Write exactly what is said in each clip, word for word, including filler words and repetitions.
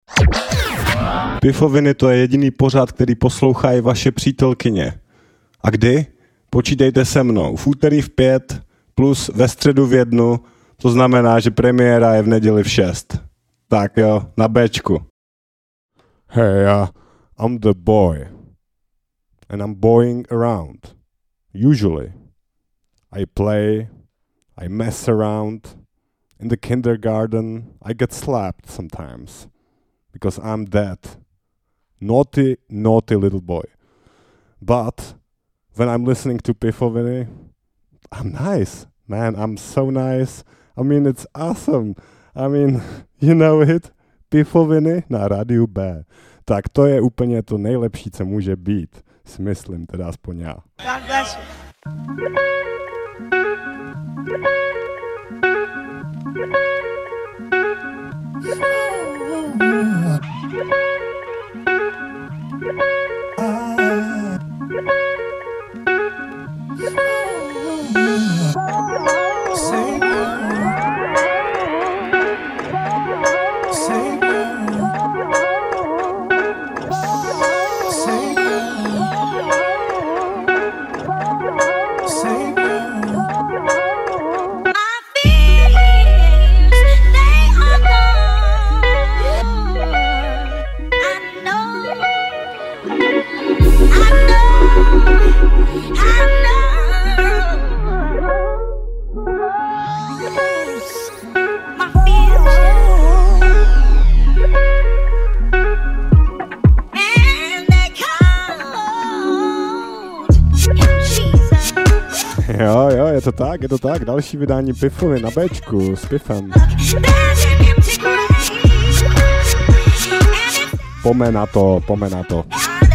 Pifoviny, to je jediný pořad, který poslouchají vaše přítelkyně. A kdy? Počítejte se mnou. V úterý v pět plus ve středu v jednu, to znamená, že premiéra je v neděli v šest. Tak jo, na Bčku. Hey, uh, I'm the boy. And I'm boying around. Usually. I play, I mess around. In the kindergarten, I get slapped sometimes. Because I'm that naughty, naughty little boy. But when I'm listening to Pifoviny, I'm nice, man. I'm so nice. I mean, it's awesome. I mean, you know it? Pifoviny na rádiu B. Tak to je úplně to nejlepší, co může být. Smyslím, teda aspoň já. God bless you. Jo, jo, je to tak, je to tak. Další vydání Pifovin na Bčku s Pifem. Pome na to, pome na to.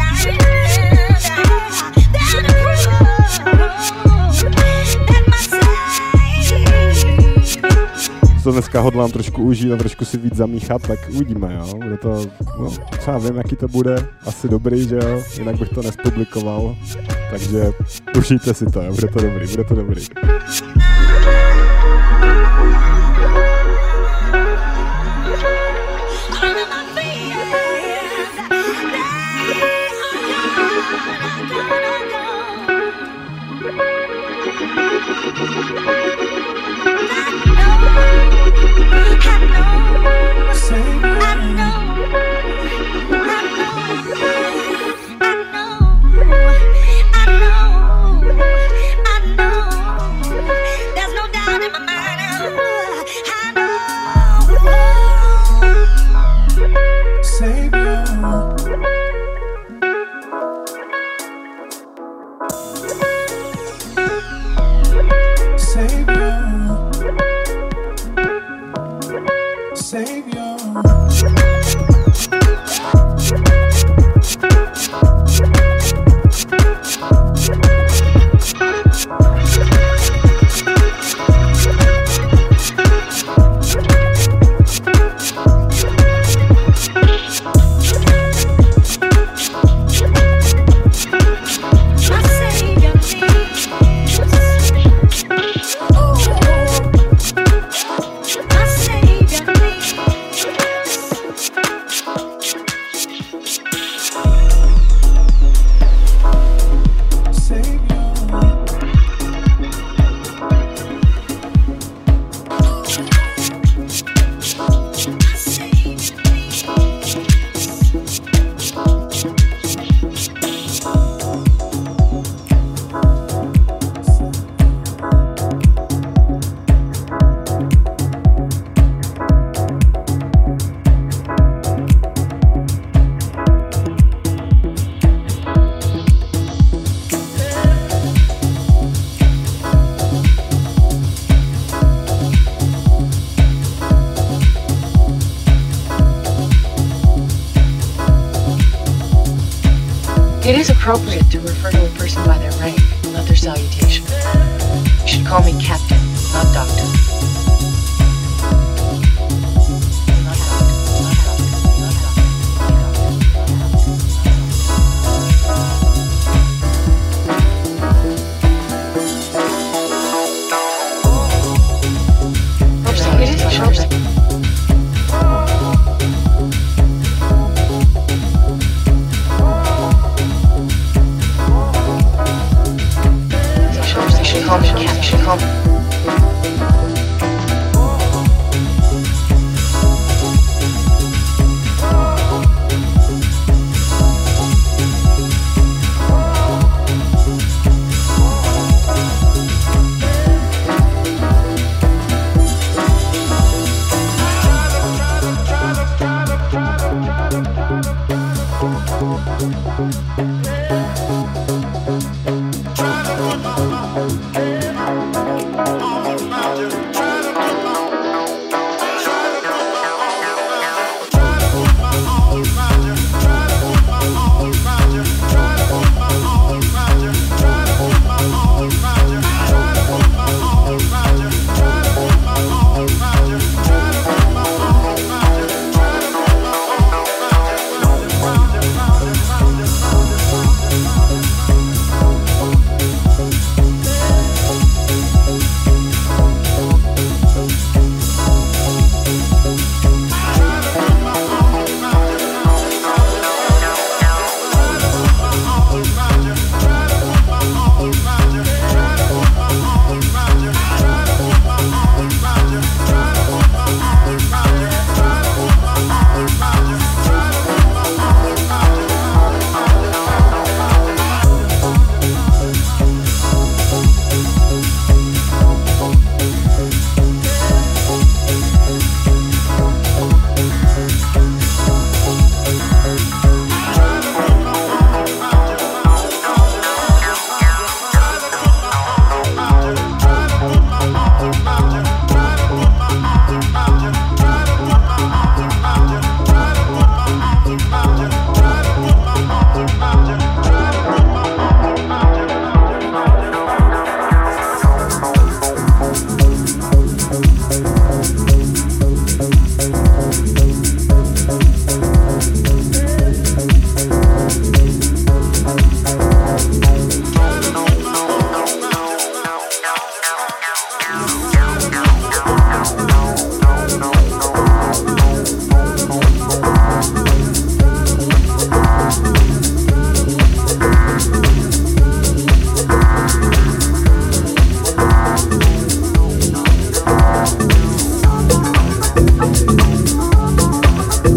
To dneska hodlám trošku užít a trošku si víc zamíchat, tak uvidíme, jo. Bude to, no, třeba vím, jaký to bude, asi dobrý, že jo, jinak bych to nespublikoval, takže užijte si to, jo, bude to dobrý, bude to dobrý. It is appropriate to refer to a person by their rank, not their salutation. You should call me Captain, not Doctor.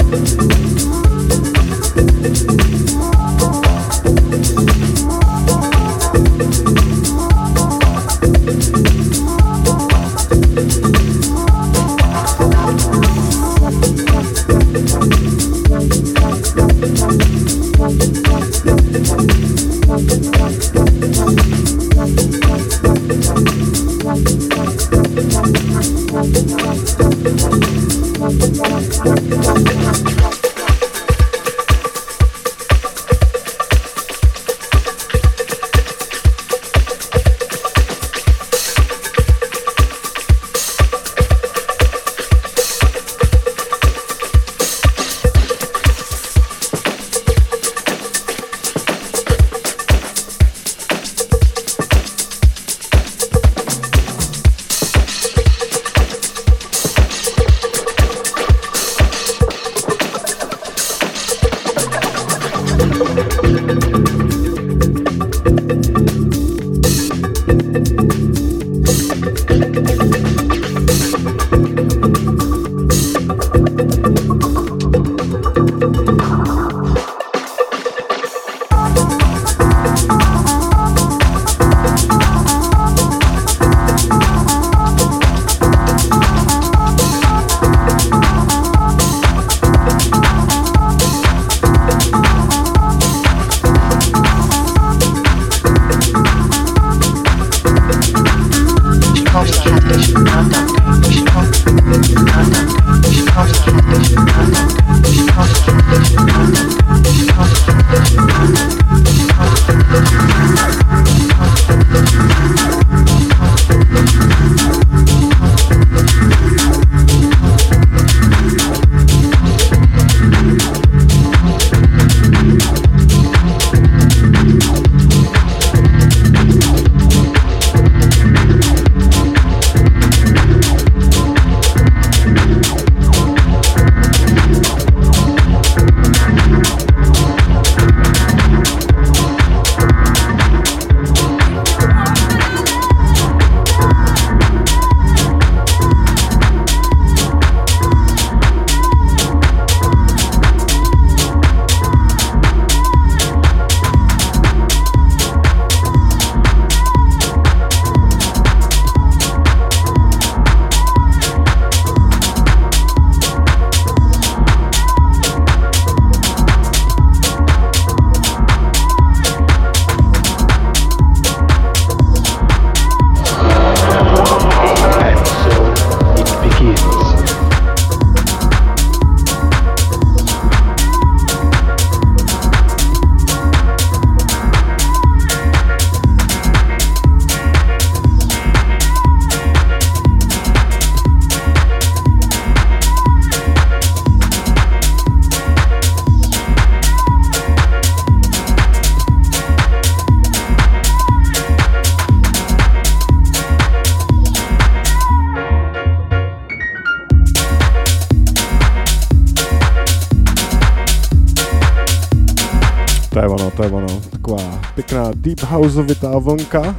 To je ono, to je ono. Taková pěkná deep houseovitá vlnka.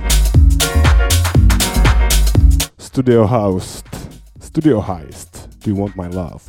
Studio House. Studio Heist. Do you want my love?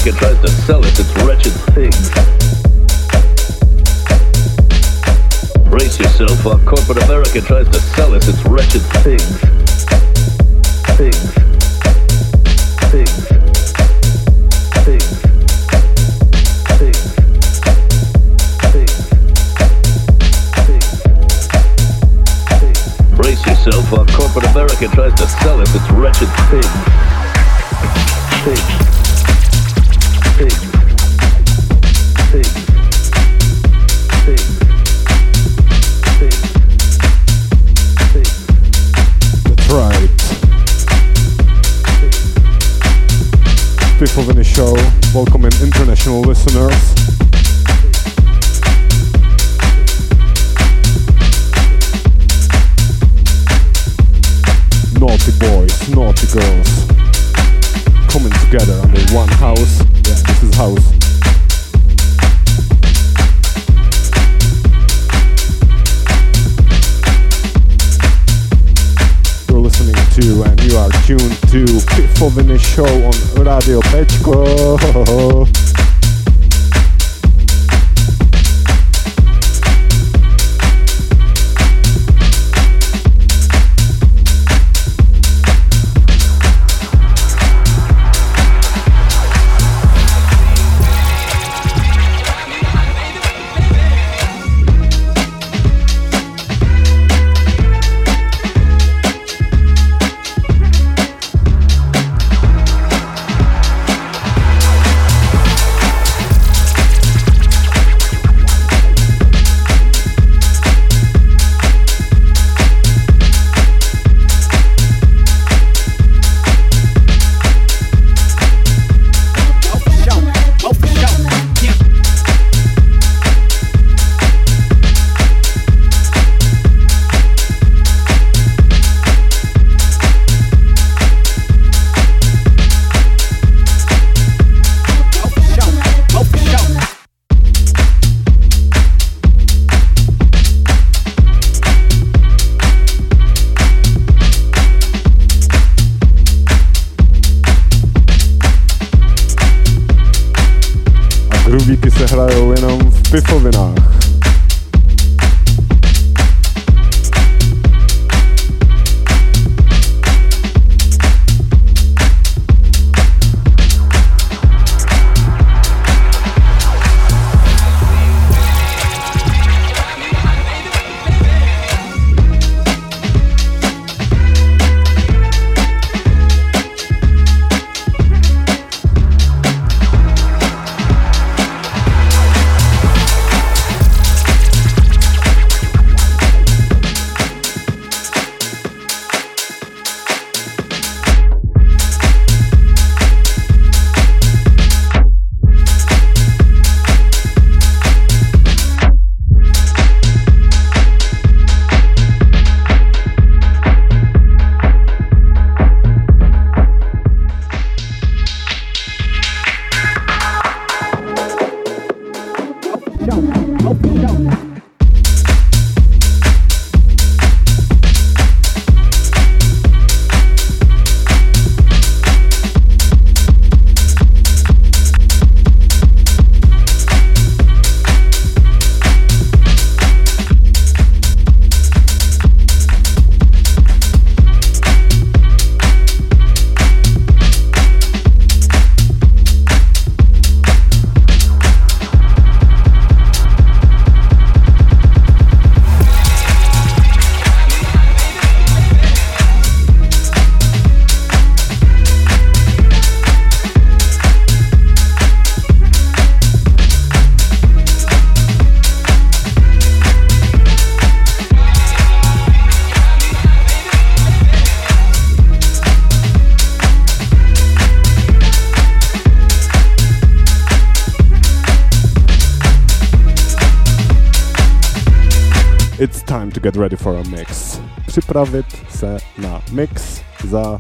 America tries to sell us its wretched pigs. Brace yourself while corporate America tries to sell us its wretched pigs. Pigs. Pigs. Pigs. Pigs. Brace yourself while corporate America tries to sell us its wretched pigs. Pigs. Pigs. Pigs. Pigs. Pigs. Pigs. That's right. Fifth of any show, welcoming international listeners. Naughty boys, naughty girls, coming together under one house. Yeah, this is house. You're listening to, and you are tuned to Fifth of any show on Radio Pečko. Hrajou jenom v pifovinách. It's time to get ready for a mix. Připravit se na mix za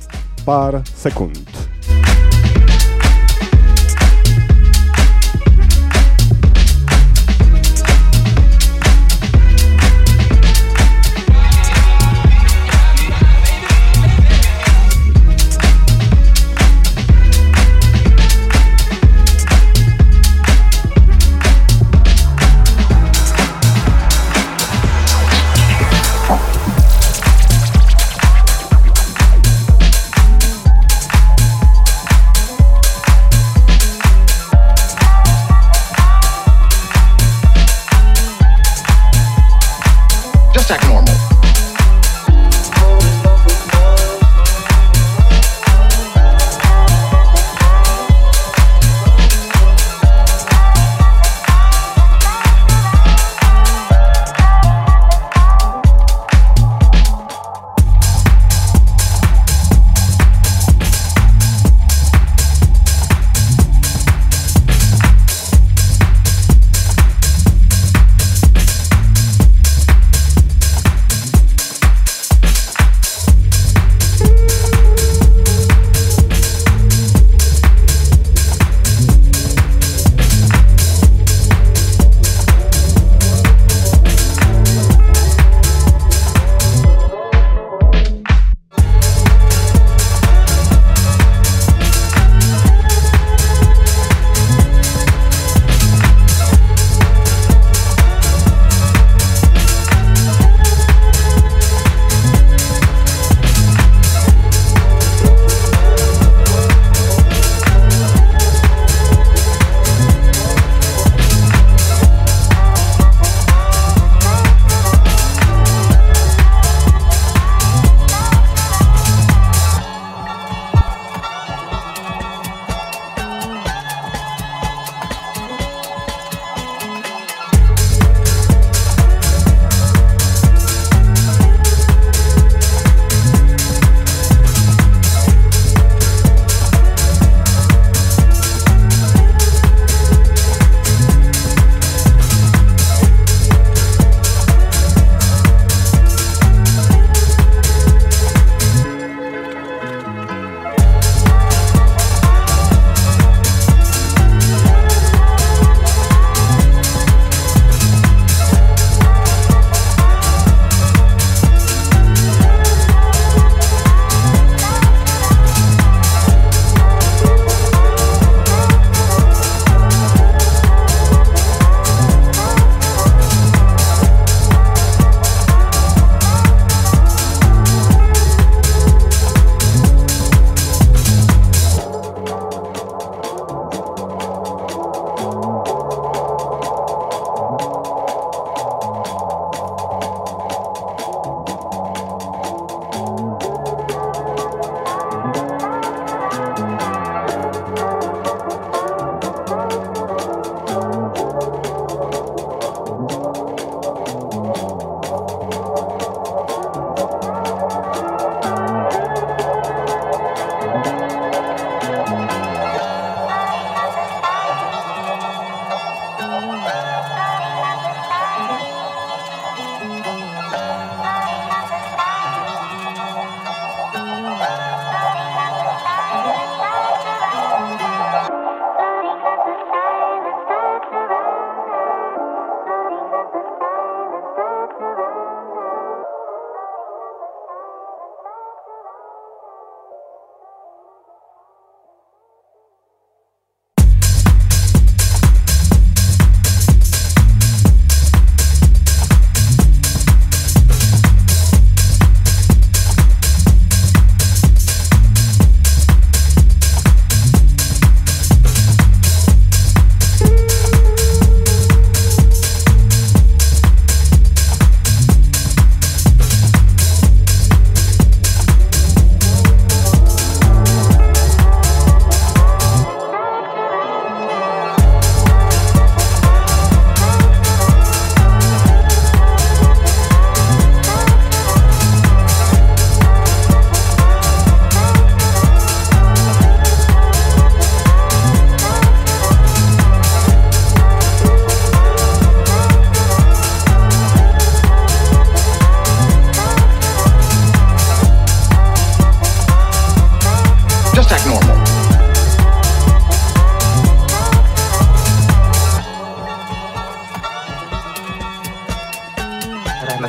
pár sekund.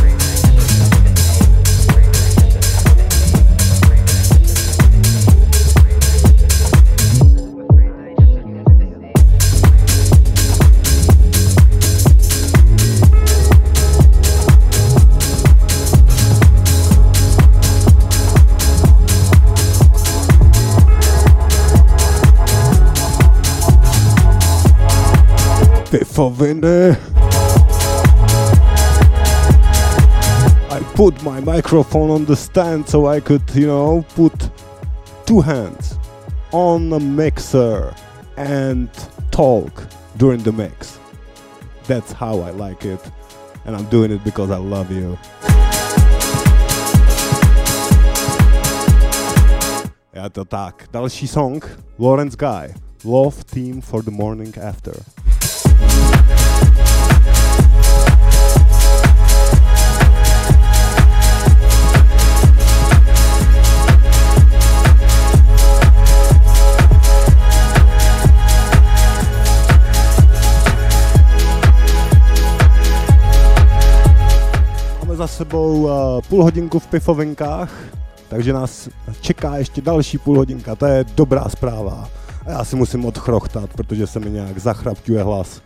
Pifoviny. I put my microphone on the stand so I could, you know, put two hands on the mixer and talk during the mix. That's how I like it, and I'm doing it because I love you. Je to tak. Další song, Lawrence Guy, Love Theme for the Morning After. Za sebou uh, půl hodinku v pifovinkách, takže nás čeká ještě další půl hodinka, to je dobrá zpráva. A já si musím odchrochtat, protože se mi nějak zachrapťuje hlas.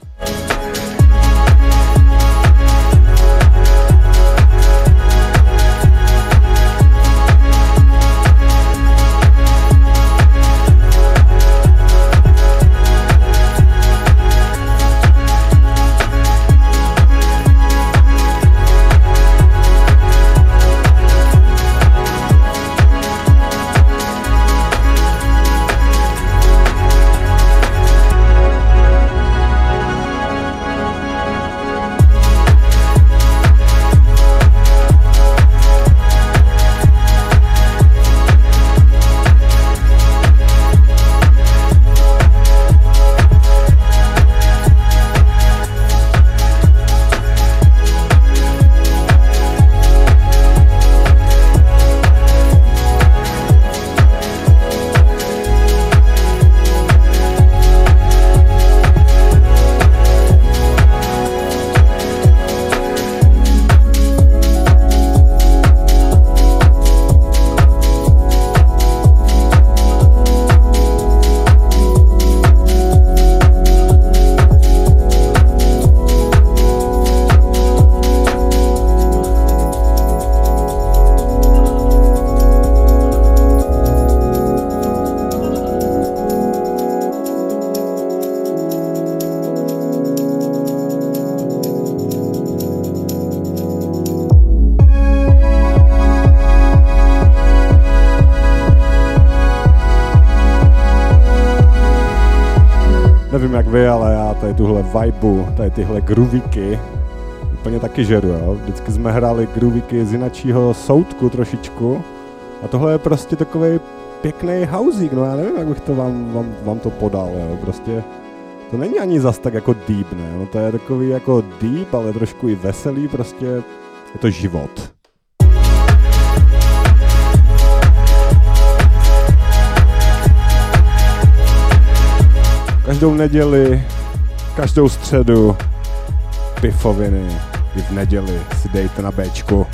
Nevím jak vy, ale já tady tuhle vibu, tady tyhle groovíky úplně taky žeru, jo. Vždycky jsme hráli groovíky z jinačího soudku trošičku a tohle je prostě takovej pěkný houseík, no já nevím, jak bych to vám, vám, vám to podal, jo. Prostě to není ani zas tak jako deep, ne, no to je takový jako deep, ale trošku i veselý, prostě je to život. Každou neděli, každou středu, pifoviny, i v neděli si dejte na béčku.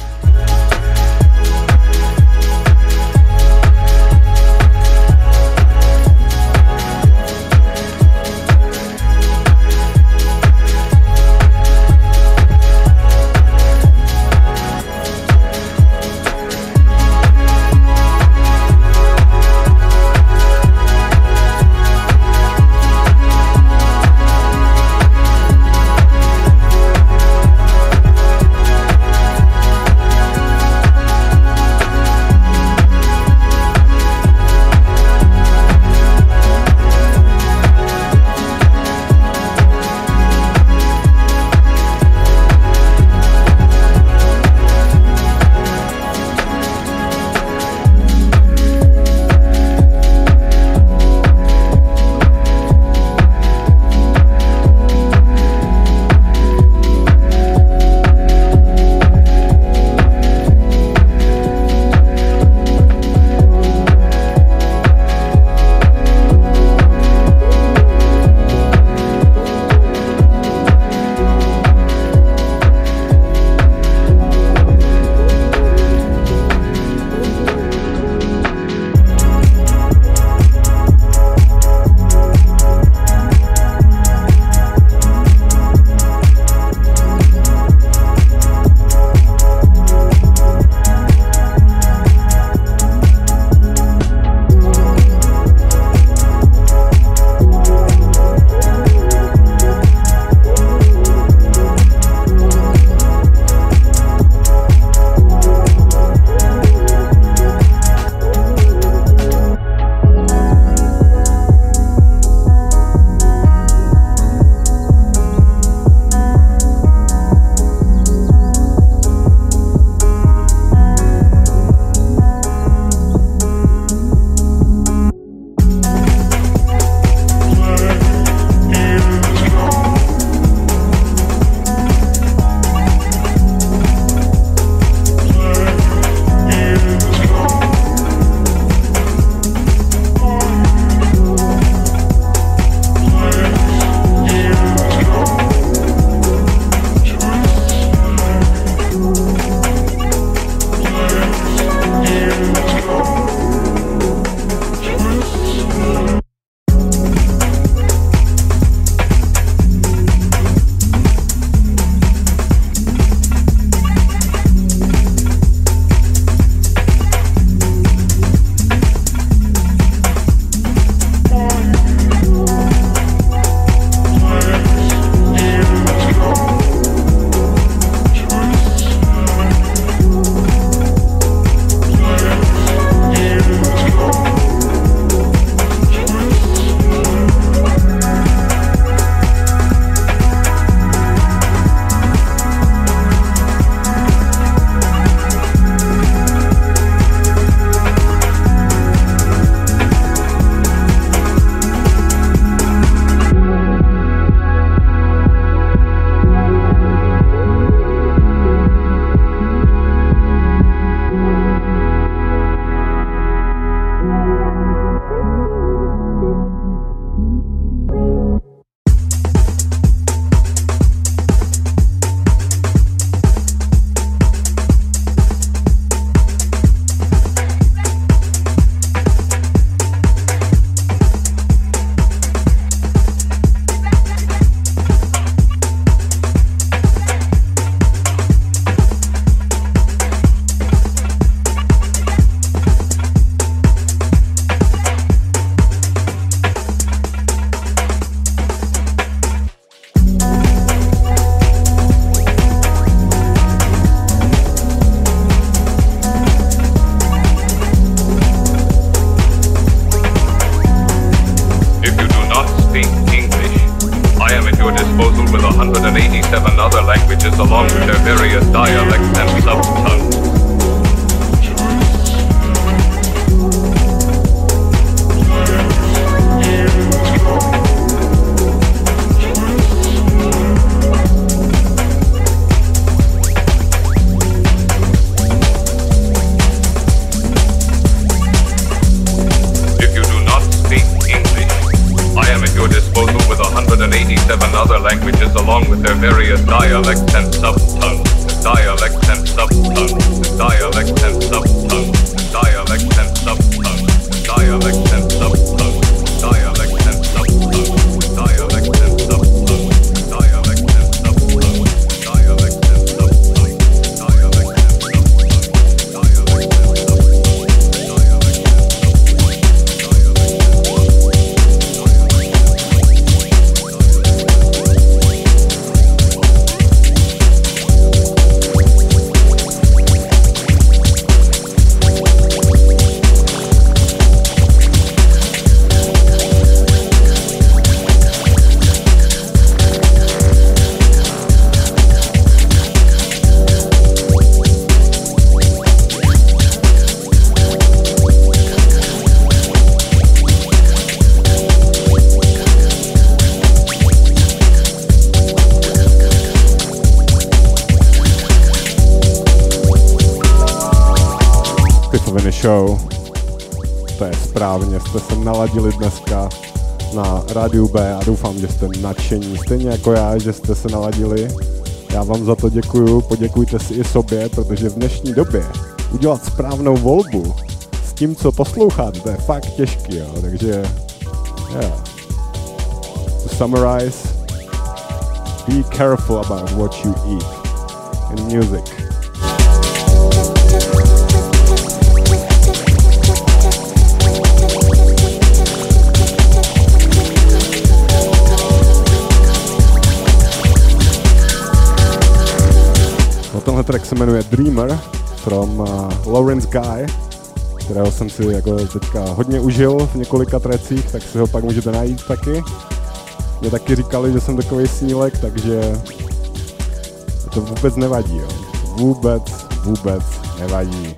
hundred eighty-seven other languages along with their various dialects and subtongues. eighty-seven other languages along with their various dialects and subtongues, dialects and subtongues, dialects and subtongues, dialects and subtongues, dialects and subtongues, dialects and subtongues, dialects and subtongues, dialects and subtongues, dialects and subtongues, dialects and show. To je správně, jste se naladili dneska na Rádiu B a doufám, že jste nadšení. Stejně jako já, že jste se naladili. Já vám za to děkuju, poděkujte si i sobě, protože v dnešní době udělat správnou volbu s tím, co posloucháte, to je fakt těžký, jo. Takže, yeah. To summarize, be careful about what you eat in music. Tenhle track se jmenuje Dreamer from uh, Lawrence Guy, kterého jsem si jako teďka hodně užil v několika tracích, tak si ho pak můžete najít taky. Mě taky říkali, že jsem takovej snílek, takže to vůbec nevadí, jo. Vůbec, vůbec nevadí.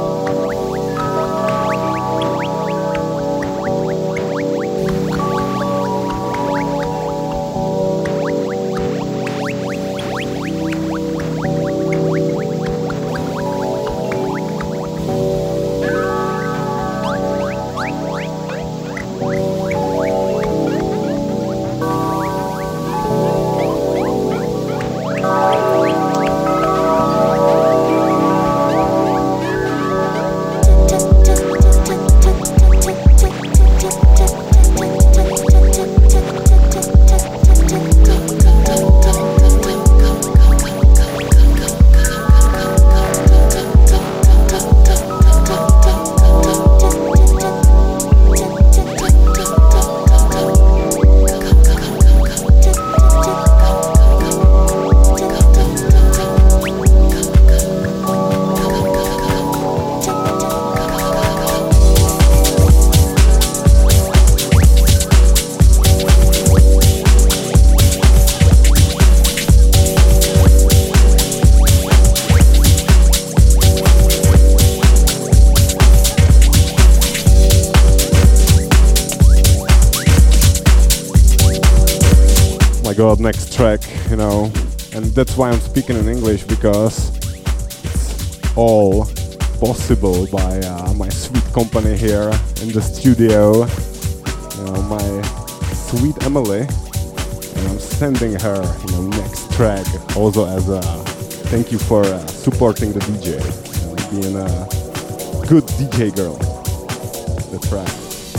God, next track, you know, and that's why I'm speaking in English, because it's all possible by uh, my sweet company here in the studio, you know, my sweet Emily, and I'm sending her, you know, next track also as a thank you for uh, supporting the D J, you know, being a good D J girl. The track.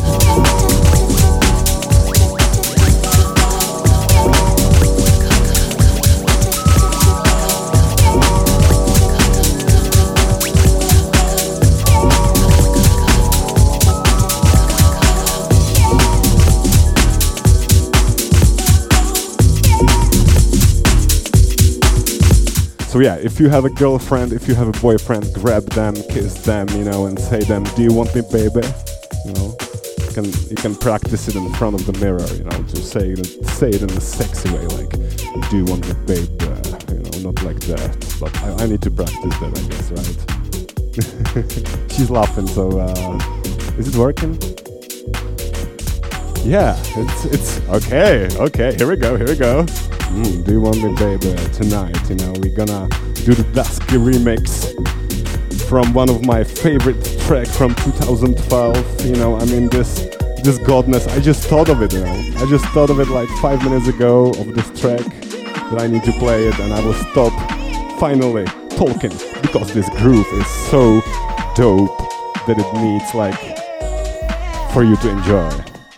So yeah, if you have a girlfriend, if you have a boyfriend, grab them, kiss them, you know, and say them, do you want me, baby? You know, can you can practice it in front of the mirror, you know, to say it, say it in a sexy way, like, do you want me, babe? Uh, you know, not like that. But I, I need to practice that, I guess, right? She's laughing. So, uh, is it working? Yeah, it's it's okay. Okay, here we go. Here we go. Mm, do you want me, babe? Uh, tonight, you know, we're gonna do the Dusky remix from one of my favorite tracks from two thousand twelve. You know, I mean, this this godness. I just thought of it. You know, I just thought of it like five minutes ago of this track that I need to play it, and I will stop finally talking because this groove is so dope that it needs like for you to enjoy.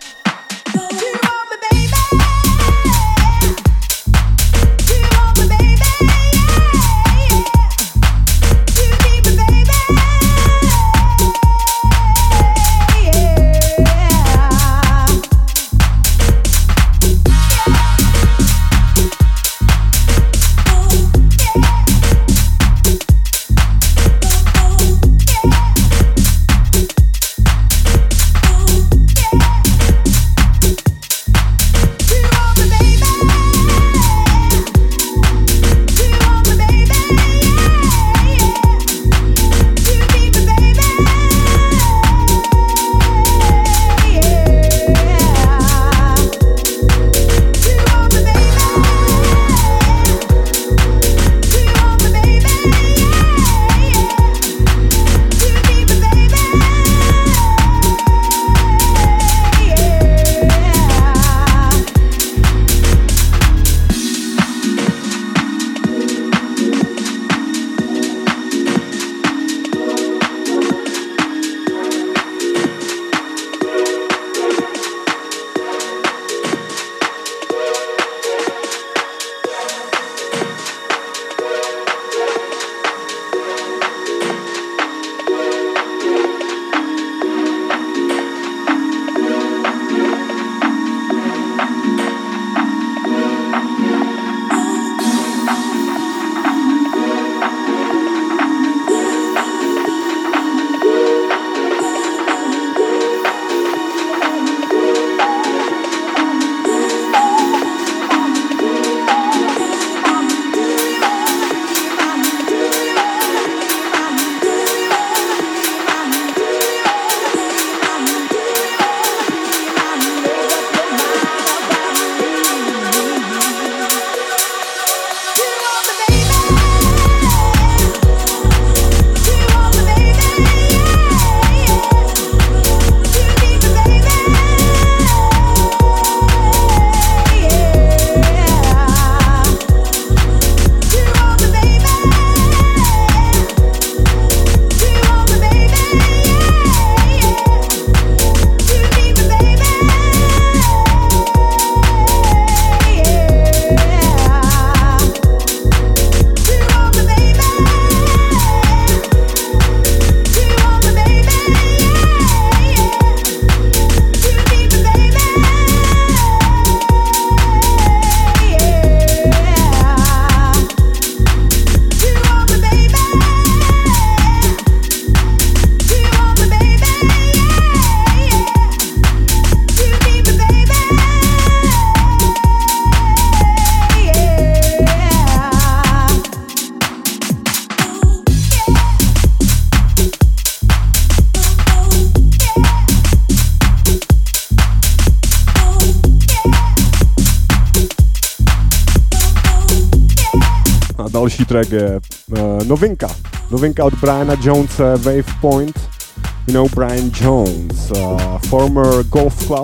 Další track je uh, novinka. Novinka od Briana Jonese, Wavepoint. You know Brian Jones, uh, former golf club.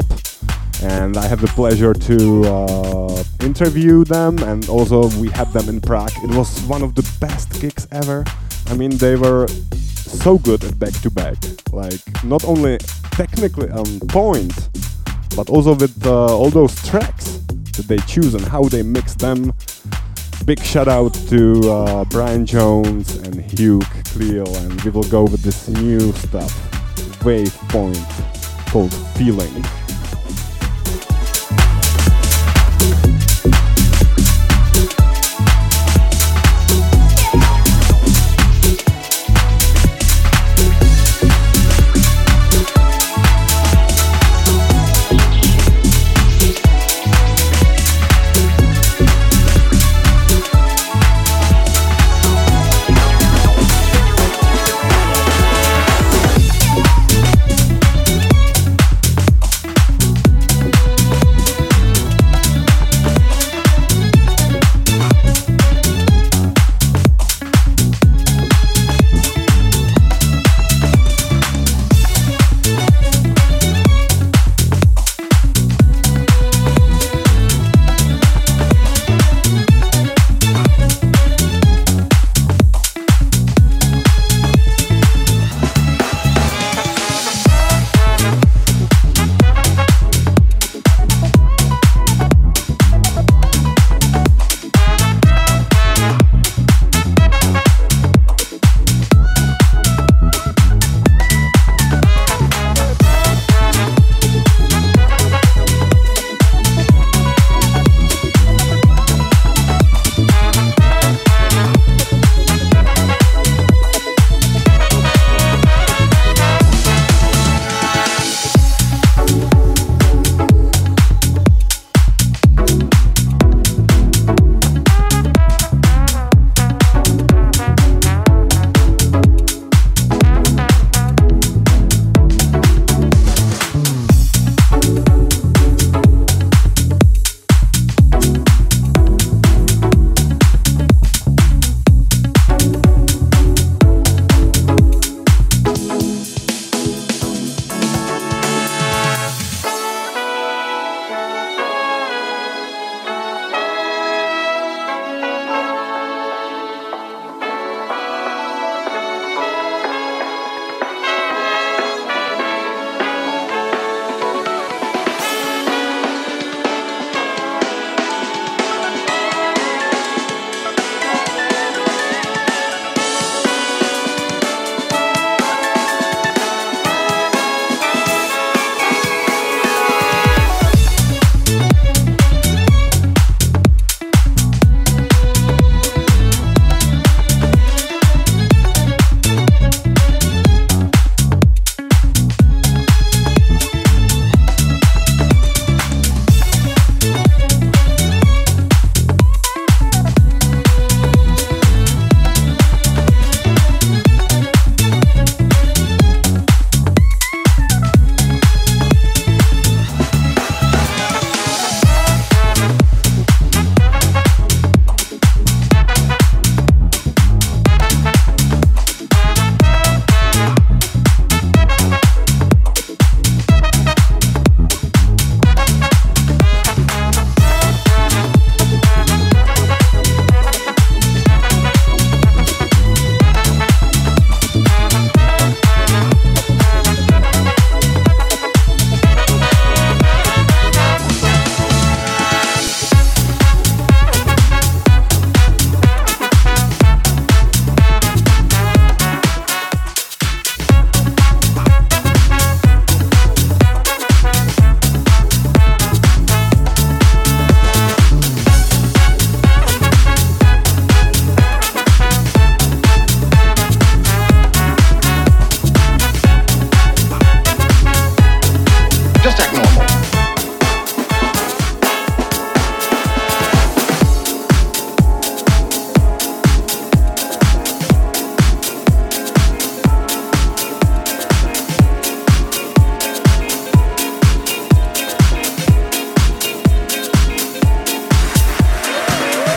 And I have the pleasure to uh, interview them, and also we had them in Prague. It was one of the best gigs ever. I mean, they were so good at back-to-back. Like, not only technically on point, but also with uh, all those tracks that they choose and how they mix them. Big shout out to uh, Brian Jones and Hugh Cleel, and we will go with this new stuff, Wavepoint, called Feeling.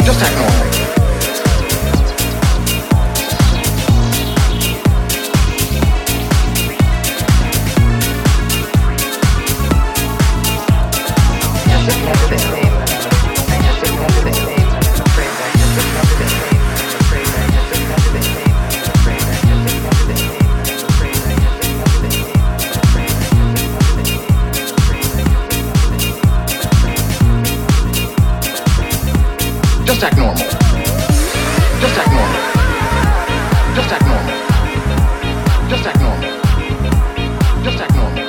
Just act normal. Just act normal. Just act normal. Just act normal. Just act normal. Just act normal.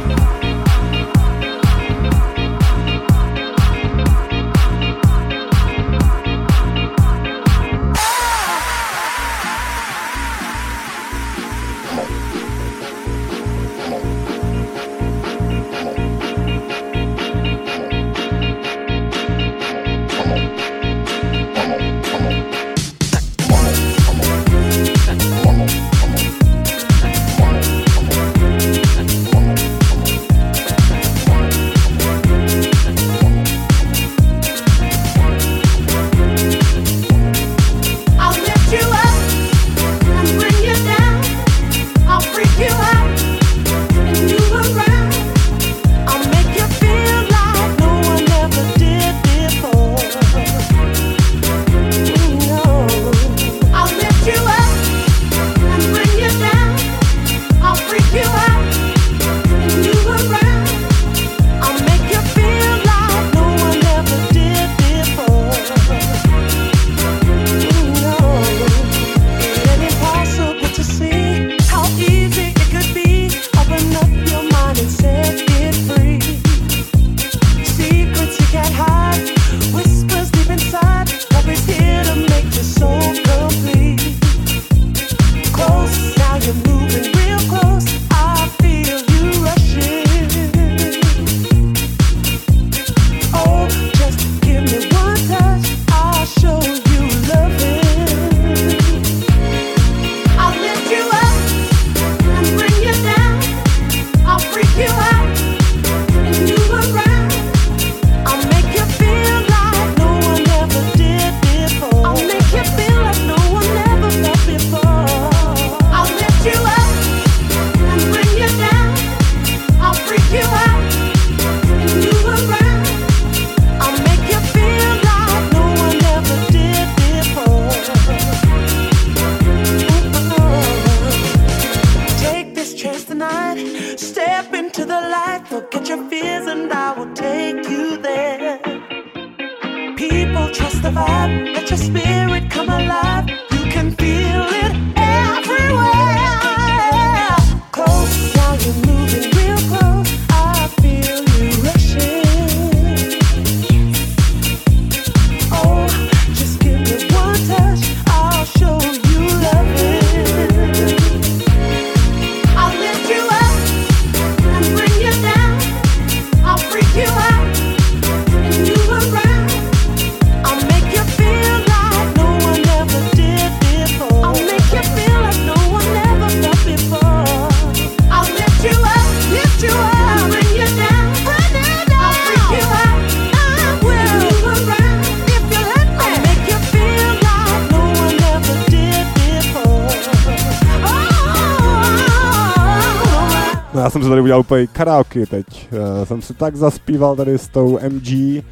Já jsem se tady udělal úplně karaoke teď. Uh, jsem si tak zaspíval tady s tou M G.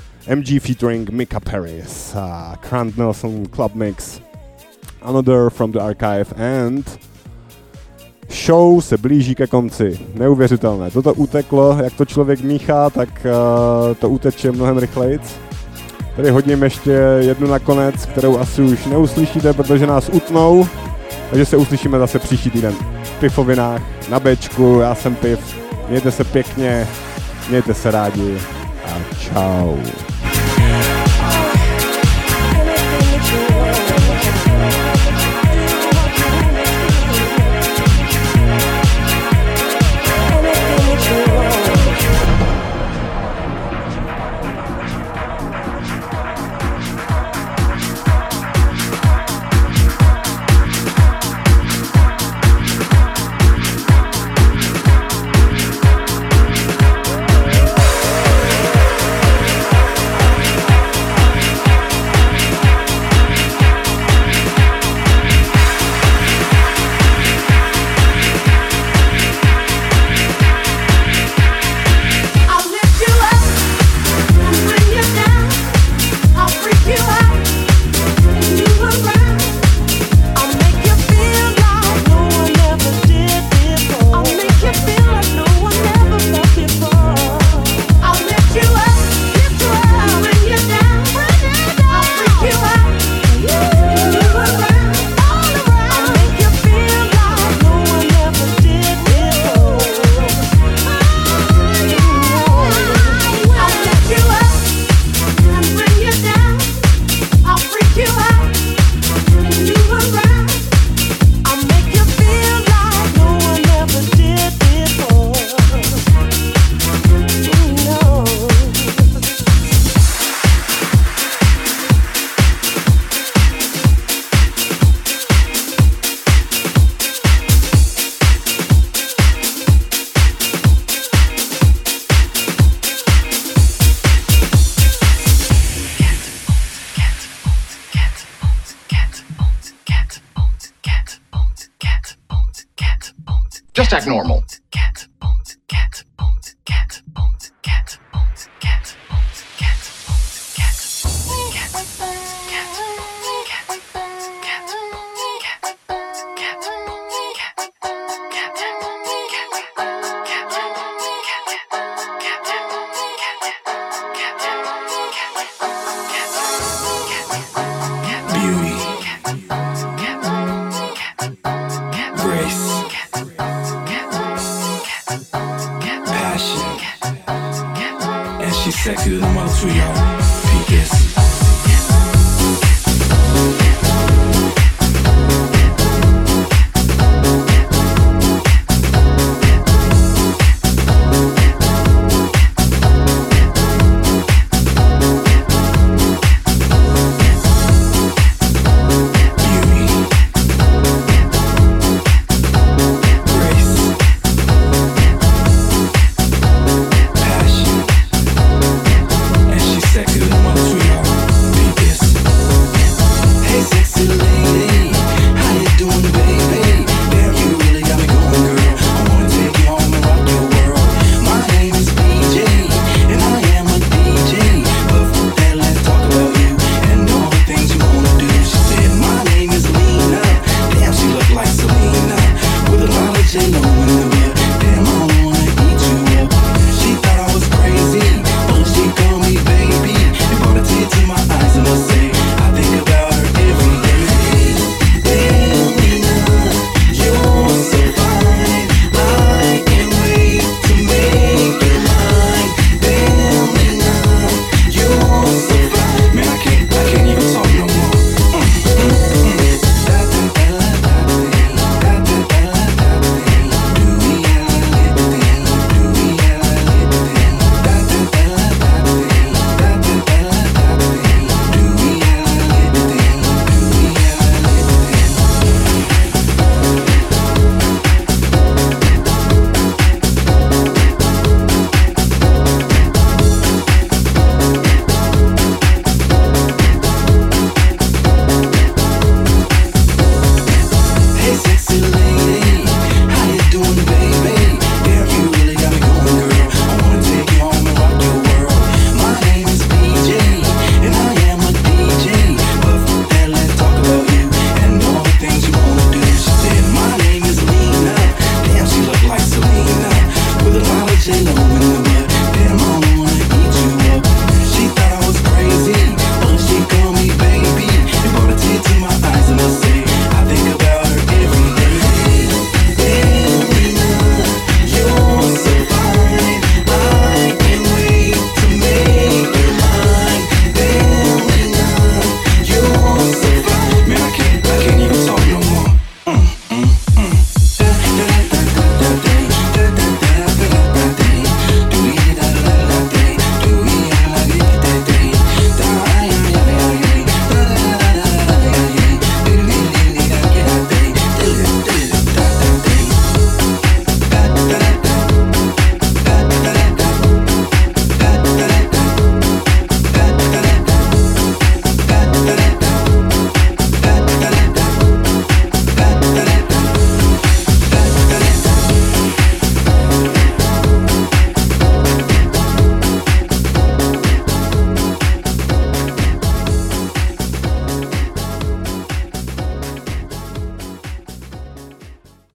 M G featuring Mika Paris. Uh, Grant Nelson Club Mix. Another from the Archive and show se blíží ke konci. Neuvěřitelné. Toto uteklo, jak to člověk míchá, tak uh, to uteče mnohem rychlejc. Tady hodím ještě jednu nakonec, kterou asi už neuslyšíte, protože nás utnou. Takže se uslyšíme zase příští týden v Pifovinách na Bčku. Já jsem Piv. Mějte se pěkně, mějte se rádi a čau. Just act normal. Beauty, grace, passion, and she's sexy to the mother too, y'all.